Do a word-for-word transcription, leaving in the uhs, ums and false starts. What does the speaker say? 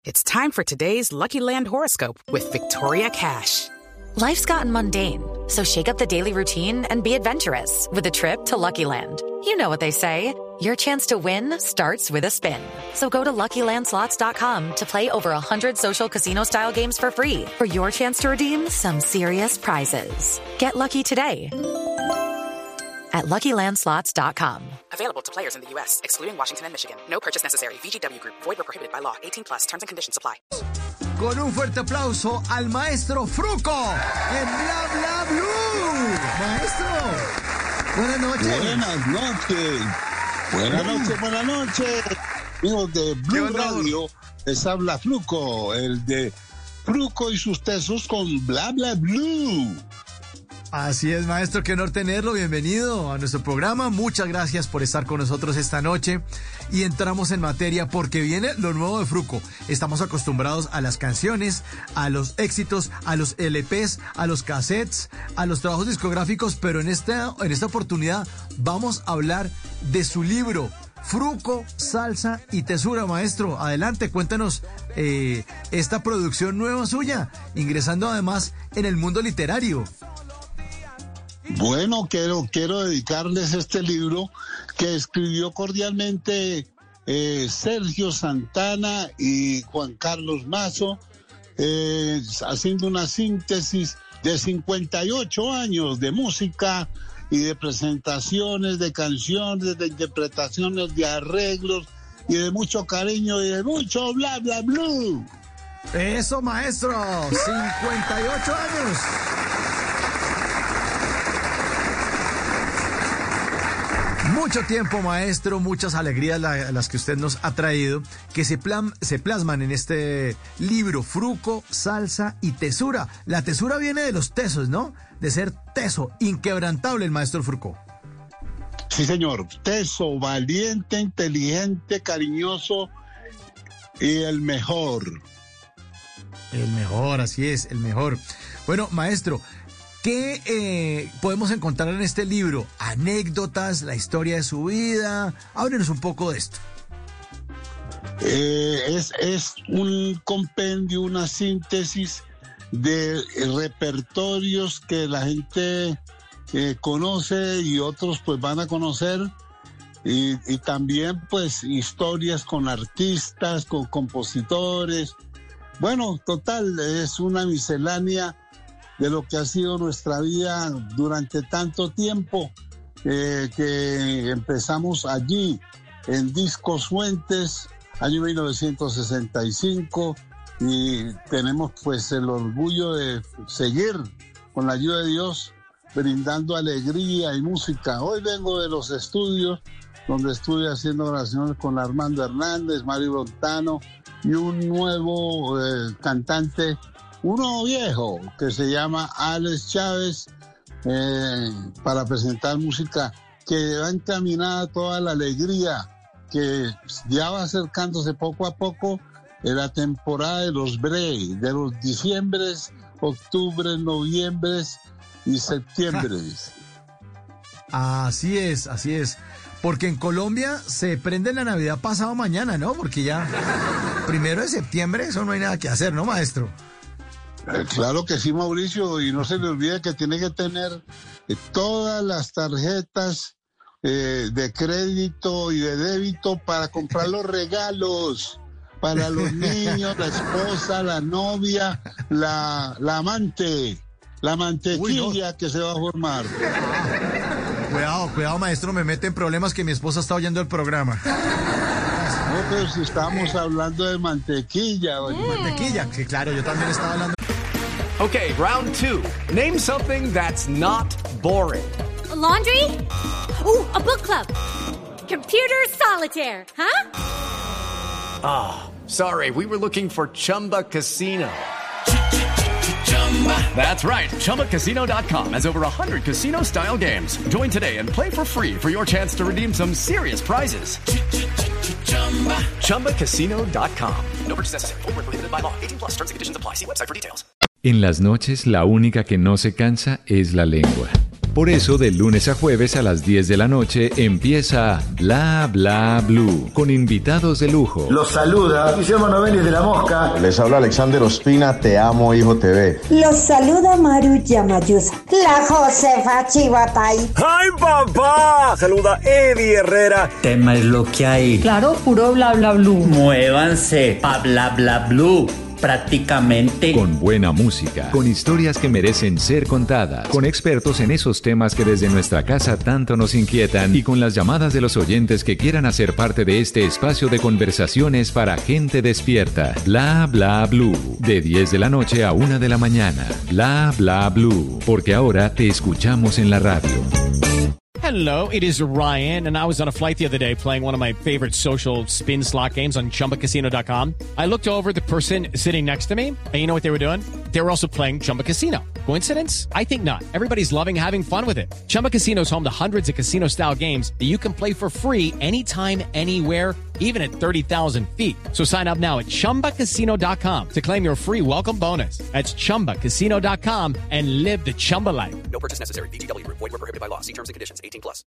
It's time for today's Lucky Land horoscope with Victoria Cash. Life's gotten mundane, so shake up the daily routine and be adventurous with a trip to Lucky Land. You know what they say, your chance to win starts with a spin. So go to Lucky Land Slots dot com to play over one hundred social casino-style games for free for your chance to redeem some serious prizes. Get lucky today at Lucky Land Slots dot com. Available to players in the U S, excluding Washington and Michigan. No purchase necessary. V G W Group. Void or prohibited by law. eighteen plus. Terms and conditions apply. Con un fuerte aplauso al maestro Fruco en Bla Bla Blue. Maestro, buenas noches. Buenas noches. Buenas noches, buenas noches. Amigos de Blue Radio, les habla Fruco, el de Fruco y sus tesos con Bla Bla Blue. Así es, maestro, qué honor tenerlo. Bienvenido a nuestro programa. Muchas gracias por estar con nosotros esta noche. Y entramos en materia porque viene lo nuevo de Fruco. Estamos acostumbrados a las canciones, a los éxitos, a los L Pes, a los cassettes, a los trabajos discográficos, pero en esta, en esta oportunidad vamos a hablar de su libro, Fruco, Salsa y Tesura. Maestro, adelante, cuéntanos eh, esta producción nueva suya, ingresando además en el mundo literario. Bueno, quiero, quiero dedicarles este libro que escribió cordialmente eh, Sergio Santana y Juan Carlos Mazo, eh, haciendo una síntesis de cincuenta y ocho años de música y de presentaciones, de canciones, de interpretaciones, de arreglos y de mucho cariño y de mucho bla bla blue. Eso, maestro, cincuenta y ocho años. Mucho tiempo, maestro, muchas alegrías la, las que usted nos ha traído, que se, plan, se plasman en este libro, Fruco, Salsa y Tesura. La tesura viene de los tesos, ¿no? De ser teso, inquebrantable el maestro Fruco. Sí, señor. Teso, valiente, inteligente, cariñoso y el mejor. El mejor, así es, el mejor. Bueno, maestro, ¿qué eh, podemos encontrar en este libro? Anécdotas, la historia de su vida. Háblenos un poco de esto. Eh, es, es un compendio, una síntesis de repertorios que la gente eh, conoce y otros pues van a conocer. Y, y también pues historias con artistas, con compositores. Bueno, total, es una miscelánea de lo que ha sido nuestra vida durante tanto tiempo, eh, que empezamos allí en Discos Fuentes, año mil novecientos sesenta y cinco, y tenemos pues el orgullo de seguir con la ayuda de Dios brindando alegría y música. Hoy vengo de los estudios donde estuve haciendo oraciones con Armando Hernández, Mario Bontano y un nuevo eh, cantante, uno viejo, que se llama Alex Chávez, eh, para presentar música que va encaminada toda la alegría, que ya va acercándose poco a poco en la temporada de los breaks, de los diciembres, octubres, noviembres y septiembres. Así es, así es. Porque en Colombia se prende la Navidad pasado mañana, ¿no? Porque ya primero de septiembre, eso no hay nada que hacer, ¿no, maestro? Claro que sí, Mauricio, y no se le olvide que tiene que tener eh, todas las tarjetas eh, de crédito y de débito para comprar los regalos para los niños, la esposa, la novia, la, la amante, la mantequilla. Uy, no. Que se va a formar. Cuidado, cuidado, maestro, me mete en problemas que mi esposa está oyendo el programa. No, pero si estamos hablando de mantequilla. Mm. Mantequilla, que claro, yo también estaba hablando. Okay, round two. Name something that's not boring. A laundry? Ooh, a book club. Computer solitaire, huh? Ah, oh, sorry, we were looking for Chumba Casino. That's right, Chumba Casino dot com has over one hundred casino-style games. Join today and play for free for your chance to redeem some serious prizes. Chumba Casino dot com. No purchase necessary. Void where prohibited by law. eighteen plus. Terms and conditions apply. See website for details. En las noches, la única que no se cansa es la lengua. Por eso, de lunes a jueves a las diez de la noche empieza Bla Bla Blue, con invitados de lujo. Los saluda Guillermo Novelli de La Mosca. Les habla Alexander Ospina, Te Amo Hijo T V. Los saluda Maru Yamayusa. La Josefa Chivatay. ¡Ay, papá! Saluda Eddie Herrera. Tema es lo que hay. Claro, puro bla bla blue. Muévanse pa bla bla blue. Prácticamente. Con buena música, con historias que merecen ser contadas, con expertos en esos temas que desde nuestra casa tanto nos inquietan y con las llamadas de los oyentes que quieran hacer parte de este espacio de conversaciones para gente despierta. Bla Bla Blue, de diez de la noche a una de la mañana. Bla Bla Blue, porque ahora te escuchamos en la radio. Hello, it is Ryan, and I was on a flight the other day playing one of my favorite social spin slot games on Chumba Casino dot com. I looked over at the person sitting next to me, and you know what they were doing? They were also playing Chumba Casino. Coincidence? I think not. Everybody's loving having fun with it. Chumba Casino is home to hundreds of casino-style games that you can play for free anytime, anywhere, even at thirty thousand feet. So sign up now at Chumba Casino dot com to claim your free welcome bonus. That's Chumba Casino dot com and live the Chumba life. No purchase necessary. V G W Group. Void where prohibited by law. See terms and conditions. eighteen plus.